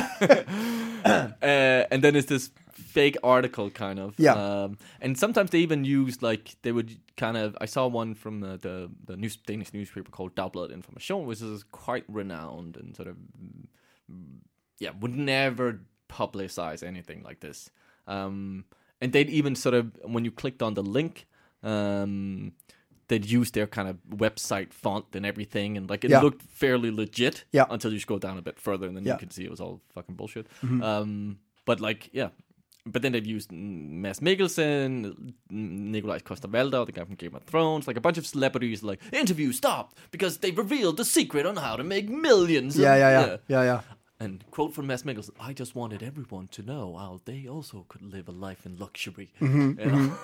uh, and then it's this fake article kind of. Yeah. Um, and sometimes they even use like they would kind of. I saw one from the the, the news, Danish newspaper called Dagbladet Information, which is quite renowned and sort of yeah would never publicize anything like this. Um, and they'd even sort of when you clicked on the link. Um, they'd use their kind of website font and everything, and like it Yeah. looked fairly legit Yeah. until you scroll down a bit further, and then Yeah. you could see it was all fucking bullshit. Mm-hmm. Um, but like, yeah. But then they've used Mads Mikkelsen, Nikolaj Coster-Waldau, the guy from Game of Thrones, like a bunch of celebrities, like, interview stopped because they revealed the secret on how to make millions. yeah, of- yeah, yeah, yeah, yeah. And quote from Mads Mikkelsen, I just wanted everyone to know how they also could live a life in luxury. Mm-hmm, You know?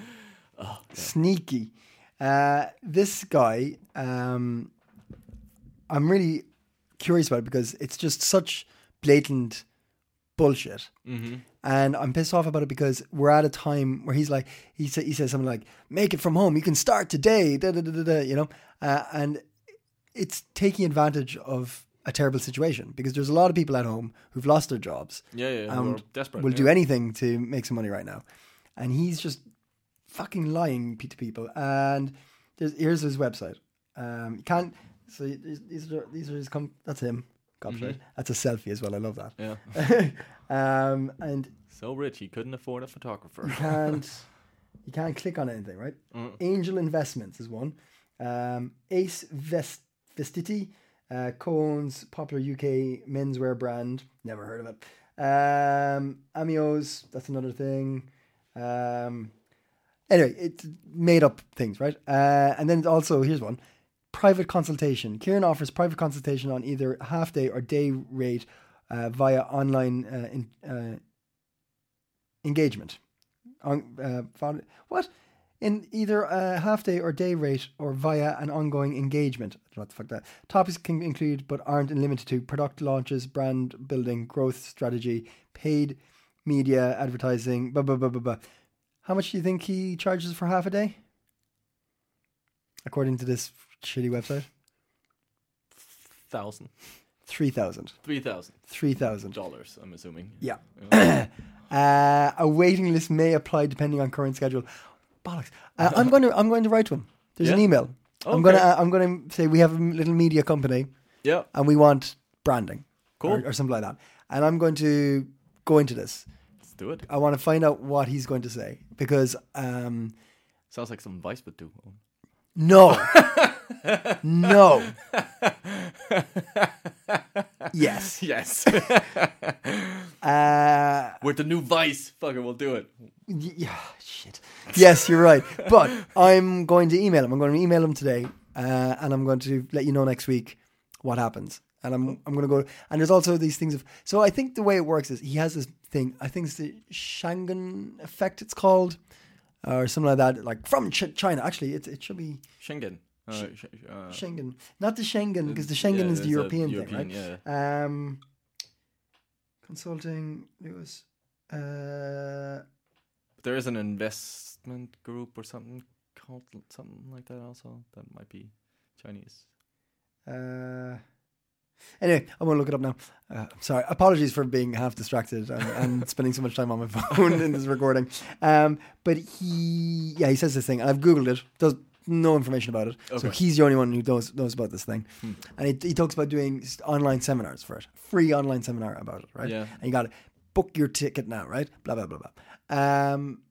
Sneaky. Uh, this guy, um, I'm really curious about it because it's just such blatant bullshit. Mm-hmm. And I'm pissed off about it because we're at a time where he's like, he, sa- he says something like, make it from home. You can start today, da, da, da, da, da, you know? Uh, and it's taking advantage of a terrible situation because there's a lot of people at home who've lost their jobs. Yeah, yeah, who and are desperate, will yeah. do anything to make some money right now. And he's just fucking lying to people. And there's, here's his website. Um, you can't, so these these are, these are his, com- that's him. Gobshite. That's a selfie as well. I love that. Yeah. um, and So rich, he couldn't afford a photographer. you can't, you can't click on anything, right? Mm. Angel Investments is one. Um, Ace Vest, Vestiti, uh, co-owns popular U K menswear brand. Never heard of it. Um, Amios, that's another thing. Um, anyway, it's made up things, right? Uh, and then also, here's one. Private consultation. Kieran offers private consultation on either half day or day rate uh, via online uh, in, uh, engagement. On, uh, found, what? In either a half day or day rate or via an ongoing engagement. I don't know what the fuck that. Topics can include but aren't limited to product launches, brand building, growth strategy, paid media, advertising, blah, blah, blah, blah, blah. How much do you think he charges for half a day? According to this shitty website? Thousand. three thousand. Three thousand. three thousand. Dollars, I'm assuming. Yeah. Yeah. Uh, a waiting list may apply depending on current schedule. Bollocks. Uh, I'm going to I'm going to write to him. There's an Yeah? email. I'm Okay. going to uh, I'm going to say we have a little media company Yeah. and we want branding. Cool. Or, or something like that. And I'm going to go into this. Let's do it. I want to find out what he's going to say because um, Sounds like some Vice would do. no. No. Yes. Yes. Uh, With the new Vice, fucker, we'll do it. y- yeah, shit. Yes, you're right. But I'm going to email him. I'm going to email him today, uh, and I'm going to let you know next week what happens. And I'm I'm going to go. And there's also these things of. So I think the way it works is he has this thing. I think it's the Schengen effect. It's called, or something like that. Like from Ch- China. Actually, it it should be Schengen. Uh, sh- uh, Schengen, not the Schengen, because the Schengen yeah, is the it's a European, European, thing, right? Um, consulting. It was. Uh, there is an investment group or something called something like that also. That might be Chinese. Uh, anyway, I'm going to look it up now. Uh, I'm sorry. Apologies for being half distracted and, and spending so much time on my phone in this recording. Um, but he, yeah, he says this thing, and I've Googled it. Does no information about it. So Okay. he's the only one who knows knows about this thing. Hmm. And he, he talks about doing s- online seminars for it. Free online seminar about it, right? Yeah. And you got to book your ticket now, right? Blah, blah, blah, blah. Um,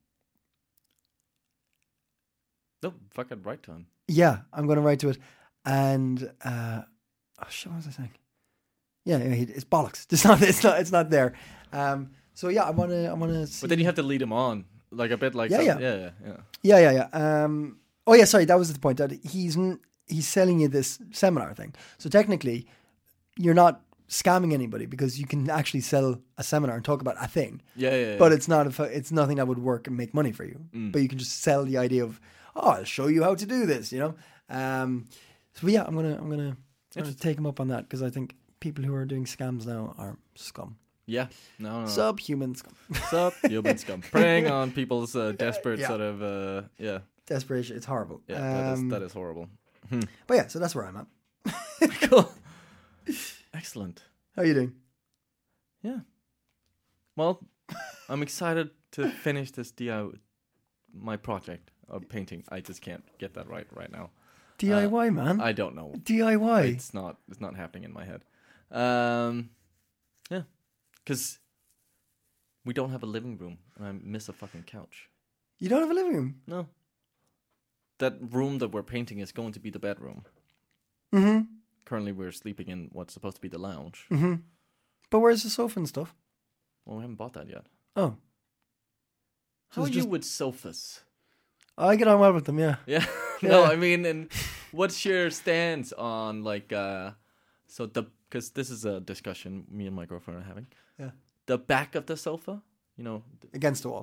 No, fucking right to him. yeah, I'm going to write to it. And, uh, oh shit, what was I saying? Yeah, yeah, he- it's bollocks. It's not, it's not, it's not there. Um, so yeah, I want to, I want to see. But then you have to lead him on, like a bit like Yeah, some- yeah. yeah, yeah, yeah. Yeah, yeah, yeah. Um, oh, yeah. Sorry, that was the point. That he's n- he's selling you this seminar thing. So technically, you're not scamming anybody because you can actually sell a seminar and talk about a thing. Yeah, yeah, yeah. But it's not. A, fu- it's nothing that would work and make money for you. Mm. But you can just sell the idea of, oh, I'll show you how to do this. You know. Um, so yeah, I'm gonna I'm gonna, I'm gonna take him up on that because I think people who are doing scams now are scum, yeah, no, no, no. subhuman scum. Sup, human scum, preying on people's uh, desperate Yeah. sort of uh, yeah. desperation. It's horrible. Yeah, that is Um, that is horrible. But yeah, so that's where I'm at. Cool. Excellent. How are you doing? Yeah. Well, I'm excited to finish this D I Y, my project of painting. I just can't get that right right now. D I Y, man. I don't know. D I Y. It's not. It's not happening in my head. Um, yeah, because we don't have a living room, and I miss a fucking couch. You don't have a living room? No. That room that we're painting is going to be the bedroom. Mm-hmm. Currently, we're sleeping in what's supposed to be the lounge. Mm-hmm. But where's the sofa and stuff? Well, we haven't bought that yet. Oh. How are it's you just- with sofas? I get on well with them, yeah. Yeah. No, Yeah. I mean, and what's your stance on like, uh, so the, because this is a discussion me and my girlfriend are having. Yeah. The back of the sofa, you know, th- Against the wall.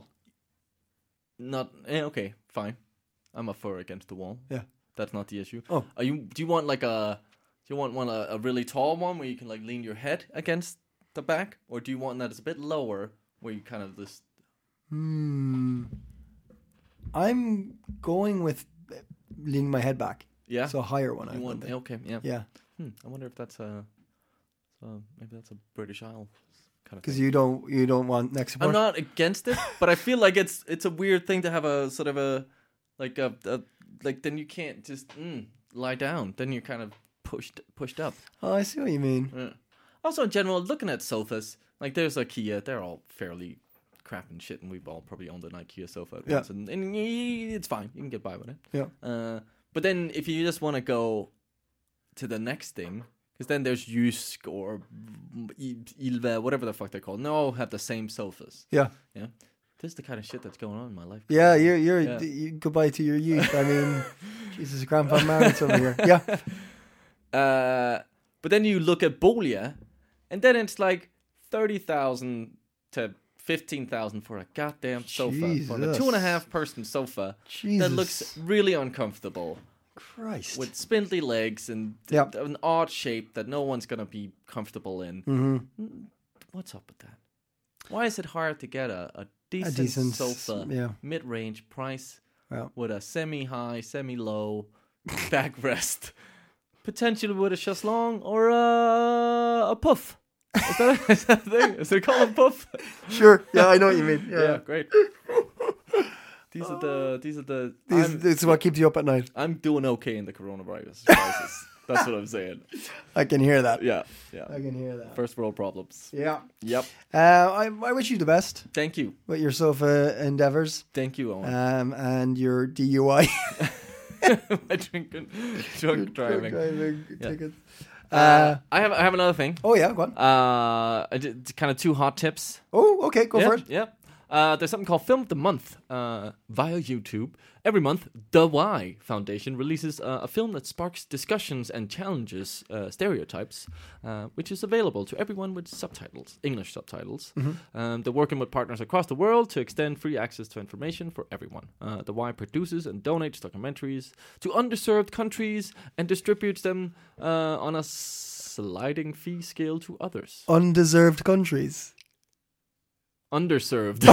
not, eh, okay, fine. I'm up for against the wall. Yeah. That's not the issue. Oh. Are you, do you want like a, do you want one, a, a really tall one where you can like lean your head against the back? Or do you want that it's a bit lower where you kind of just, Hmm. I'm going with uh, leaning my head back. yeah? So a higher one. you I want, think. okay, yeah. Yeah. Hmm, I wonder if that's a, so maybe that's a British Isle kind of Because thing. you don't you don't want neck support. I'm not against it, but I feel like it's it's a weird thing to have a sort of a like a, a like then you can't just mm, lie down. Then you're kind of pushed pushed up. Oh, I see what you mean. Yeah. Also, in general, looking at sofas, like there's IKEA, they're all fairly crap and shit, and we've all probably owned an IKEA sofa at Yeah. once, and, and y- it's fine. You can get by with it. Yeah. Uh, but then if you just want to go to the next thing, because then there's Jysk or Ilva, whatever the fuck they're called. They all have the same sofas. Yeah. Yeah. This is the kind of shit that's going on in my life. Yeah, you're you're Yeah. you, goodbye to your youth. I mean, Jesus, Grandpa married over here. Yeah. Uh, but then you look at Bolia, and then it's like thirty thousand to fifteen thousand for a goddamn sofa, for a Jesus. two and a half person sofa Jesus. that looks really uncomfortable Christ. with spindly legs and Yep. an odd shape that no one's gonna be comfortable in. Mm-hmm. What's up with that? Why is it hard to get a, a decent, decent s- sofa, yeah. mid-range price Well, with a semi-high, semi-low backrest, potentially with a chaiselong or a, a puff? Is that, a, is that a thing? Is it called a puff? sure. Yeah, I know what you mean. Yeah. Yeah, great. These are the. These are the. These, I'm, this is what keeps you up at night. I'm doing okay in the coronavirus crisis. That's what I'm saying. I can hear that. Yeah, yeah. I can hear that. First world problems. Yeah. Yep. Uh, I, I wish you the best Thank you. with your sofa endeavors Thank you, Owen. um, and your D U I. My drinking, drunk driving. Driving Yeah. tickets. Uh, Uh, I have. I have another thing. oh, yeah, go on. Uh, I did kind of two hot tips. Oh, okay, go yeah, for it. Yeah. Uh, there's something called Film of the Month uh, via YouTube. Every month, The Y Foundation releases uh, a film that sparks discussions and challenges uh, stereotypes, uh, which is available to everyone with subtitles, English subtitles. Um, they're working with partners across the world to extend free access to information for everyone. Uh, the Y produces and donates documentaries to underserved countries and distributes them uh, on a sliding fee scale to others. Undeserved countries. Underserved.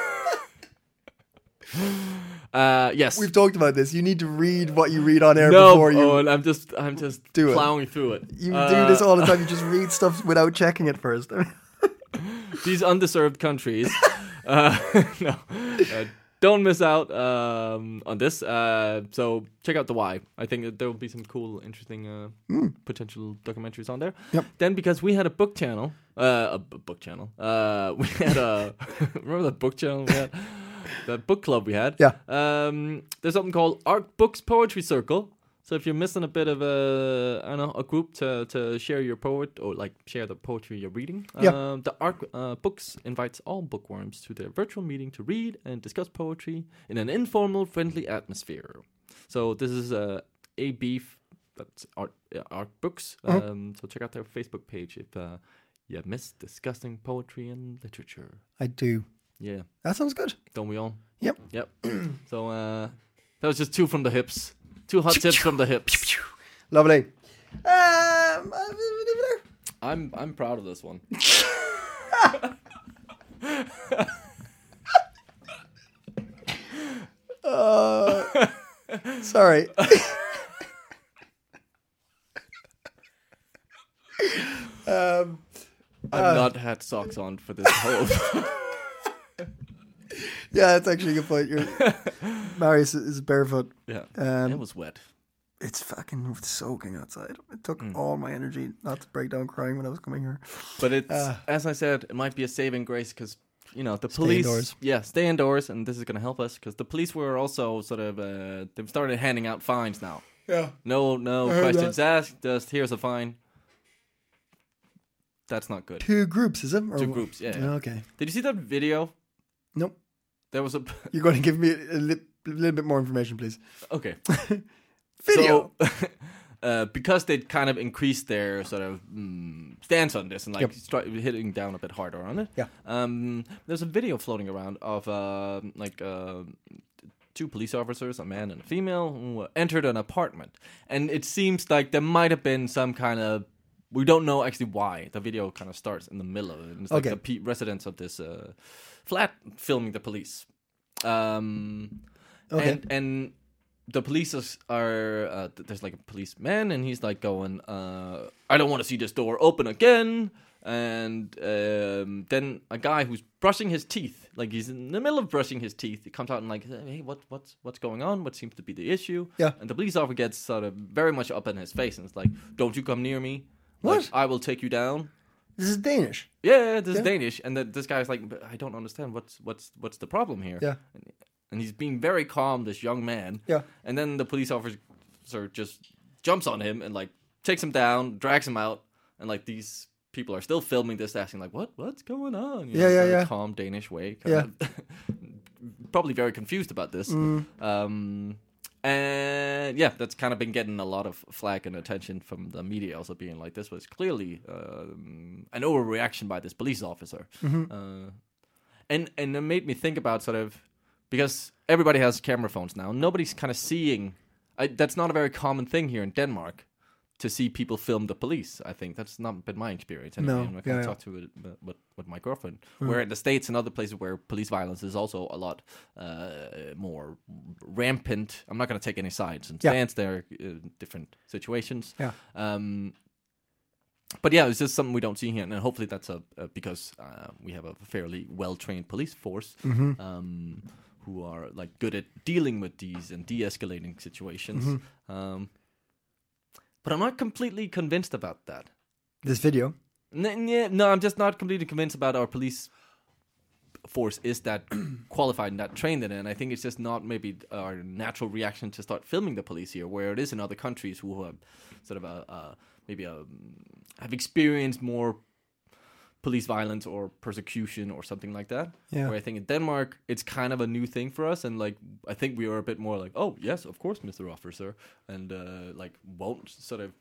uh, yes. We've talked about this. You need to read what you read on air no, before you. Owen, I'm just, I'm just Do it. plowing through it. You Uh, do this all the time. You just read stuff without checking it first. These underserved countries. uh, no, uh, don't miss out um, on this. Uh, so check out the Y. I think that there will be some cool, interesting, uh, potential documentaries on there. Yep. Then because we had a book channel, uh, a b- book channel. Uh, we had a remember that book channel we had, the book club we had. Yeah. Um, there's something called Arc Books Poetry Circle. So if you're missing a bit of a, I don't know, a group to, to share your poet or like share the poetry you're reading, Yeah. um, the Arc uh, Books invites all bookworms to their virtual meeting to read and discuss poetry in an informal, friendly atmosphere. So this is uh, a beef that's Art, uh, Arc Books. Uh-huh. Um, so check out their Facebook page if uh, you miss discussing poetry and literature. I do. Yeah, That sounds good. don't we all? Yep. Yep. So uh, that was just two from the hips. Two hot tips from the hips. Lovely. Um, uh, leave it there. I'm I'm proud of this one. Uh, Sorry. um, I've not had socks on for this whole. yeah, that's actually a good point. You're, Marius is barefoot. Yeah, Um, it was wet. It's fucking soaking outside. It took all my energy not to break down crying when I was coming here. But it's Uh, as I said, it might be a saving grace because you know the Stay police. indoors. Yeah, stay indoors, and this is going to help us because the police were also sort of uh, they've started handing out fines now. Yeah. No, no I heard questions asked. Just here's a fine. That's not good. Two groups, is it? Or- Two groups, yeah, yeah. Okay. Did you see that video? Nope. There was a You're going to give me a, li- little bit more information, please. okay. Video. So, uh, because they kind of increased their sort of mm, stance on this and like Yep. start hitting down a bit harder on it. Yeah. Um, there's a video floating around of uh, like uh, two police officers, a man and a female, who entered an apartment, and it seems like there might have been some kind of. We don't know actually why. The video kind of starts in the middle of it. And it's like Okay. the pe- residents of this uh, flat filming the police. Um, Okay. And, and the police is, are, uh, th- there's like a policeman, and he's like going, uh, I don't want to see this door open again. And um, then a guy who's brushing his teeth, like he's in the middle of brushing his teeth, he comes out and like, hey, what, what's, what's going on? What seems to be the issue? Yeah. And the police officer gets sort of very much up in his face, and it's like, don't you come near me. What? Like, I will take you down. This is Danish. Yeah, this Yeah. is Danish, and then this guy's like, but I don't understand what's what's what's the problem here. Yeah. and, and he's being very calm, this young man. Yeah. And then the police officer just jumps on him and like takes him down, drags him out, and like these people are still filming this, asking like, what what's going on? You Yeah, yeah, very yeah. Calm Danish way. Kind Yeah. of probably very confused about this. Mm. Um, and yeah, that's kind of been getting a lot of flack and attention from the media, also being like, this was clearly um, an overreaction by this police officer. Mm-hmm. Uh, and and it made me think about sort of, because everybody has camera phones now, nobody's kind of seeing. I, that's not a very common thing here in Denmark to see people film the police. I think that's not been my experience. Anyway. No, I'm not yeah, going to yeah. talk to it with, with, with my girlfriend. Where in the States and other places where police violence is also a lot uh, more rampant. I'm not going to take any sides and Yeah. stance there in different situations. Yeah. Um, but yeah, it's just something we don't see here, and hopefully that's a, a because uh, we have a fairly well-trained police force Mm-hmm. um, who are like good at dealing with these and de-escalating situations. Mm-hmm. Um, but I'm not completely convinced about that. This video. N- yeah, no, I'm just not completely convinced about our police force is that qualified and that trained in it. And I think it's just not maybe our natural reaction to start filming the police here, where it is in other countries who have sort of a, a maybe a, have experienced more police violence or persecution or something like that. Yeah. Where I think in Denmark, it's kind of a new thing for us. And like, I think we are a bit more like, oh, yes, of course, Mister Officer. And uh, like, won't sort of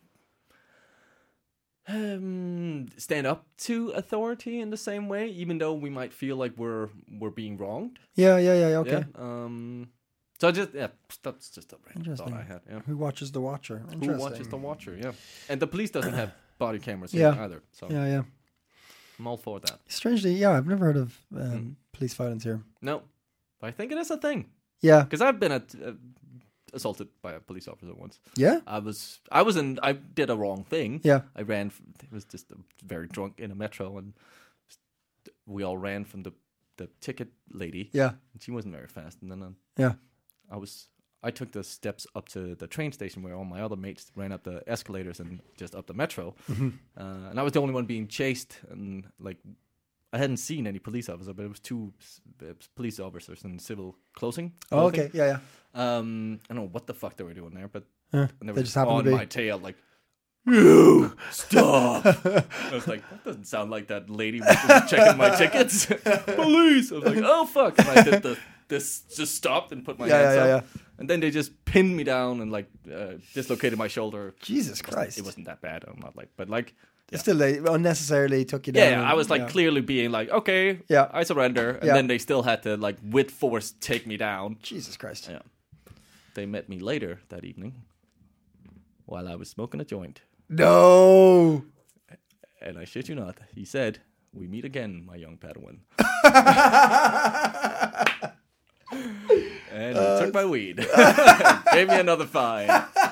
um, stand up to authority in the same way, even though we might feel like we're we're being wronged. Yeah, yeah, yeah. Okay. Yeah. Um, so I just, yeah, that's just a random Interesting. thought I had. Yeah. Who watches the Watcher? Who Interesting. watches the Watcher? Yeah. And the police doesn't have body cameras here Yeah. either. So Yeah, yeah. I'm all for that. Strangely, yeah, I've never heard of um, Mm. police violence here. No, but I think it is a thing. Yeah, Because I've been at, uh, assaulted by a police officer once. yeah, I was, I was in, I did a wrong thing. yeah. I ran. From, it was just uh, very drunk in a metro, and we all ran from the the ticket lady. Yeah, And she wasn't very fast, and then uh, yeah. I was. I took the steps up to the train station where all my other mates ran up the escalators and just up the metro, Mm-hmm. uh, and I was the only one being chased. And like, I hadn't seen any police officer, but it was two s- uh, police officers in civil closing. Oh, okay, yeah, yeah. Um, I don't know what the fuck they were doing there, but Uh, and they they were just happened on to be. my tail, like, you stop. I was like, that doesn't sound like that lady was checking my tickets. Police. I was like, oh fuck. And I did the this just stopped and put my Yeah, hands yeah, up. yeah, And then they just pinned me down and like uh, dislocated my shoulder. Jesus Christ! It wasn't that bad. I'm not like, but like, yeah. Still, they unnecessarily took you down. Yeah, and- I was like yeah. clearly being like, okay, Yeah. I surrender. And Yeah. then they still had to like with force take me down. Jesus Christ. Yeah. They met me later that evening while I was smoking a joint. No. And I shit you not, he said, we meet again, my young Padawan. And he took took my weed. Gave me another fine.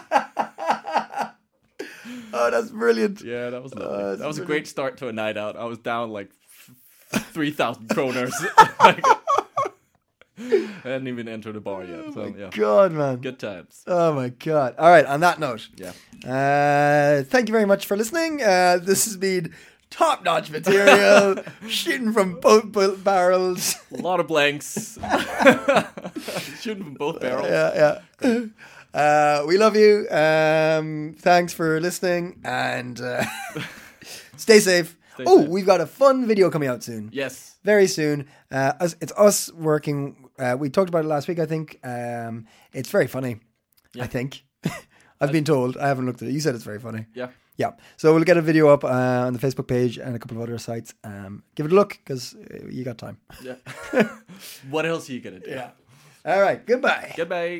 Oh, that's brilliant. Yeah, that was lovely. Oh, that was brilliant. a great start to a night out. I was down like f- three thousand kroners. Like, I hadn't even entered the bar yet. So, yeah. God, man. Good times. Oh, my God. All right, on that note. Yeah. Uh, thank you very much for listening. Uh, this has been top-notch material, shooting from both bu- barrels. A lot of blanks. Shooting from both barrels. Yeah, yeah. Uh, we love you. Um, thanks for listening, and uh, stay safe. Stay oh, safe. we've got a fun video coming out soon. Yes. Very soon. Uh, us- it's us working. Uh, we talked about it last week, I think. Um, it's very funny, I think. I've been told. I haven't looked at it. You said it's very funny. Yeah. Yeah. So we'll get a video up uh, on the Facebook page and a couple of other sites. Um, give it a look because you got time. Yeah. What else are you going to do? Yeah. All right. Goodbye. Goodbye.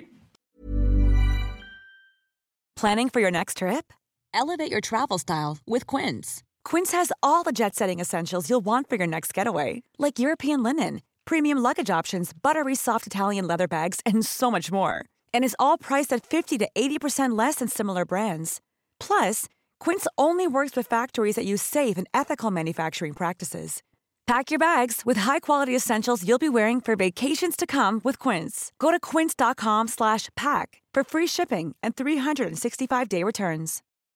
Planning for your next trip? Elevate your travel style with Quince. Quince has all the jet-setting essentials you'll want for your next getaway, like European linen, premium luggage options, buttery soft Italian leather bags, and so much more. And is all priced at fifty to eighty percent less than similar brands. Plus, Quince only works with factories that use safe and ethical manufacturing practices. Pack your bags with high-quality essentials you'll be wearing for vacations to come with Quince. Go to quince.com slash pack for free shipping and three sixty-five day returns.